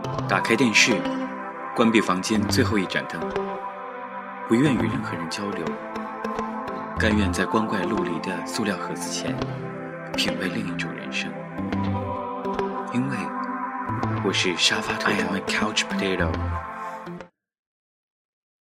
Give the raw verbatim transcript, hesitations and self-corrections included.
打开电视，关闭房间最后一盏灯，不愿与任何人交流，甘愿在光怪陆离的塑料盒子前品味另一种人生。因为我是沙发头 I am a couch potato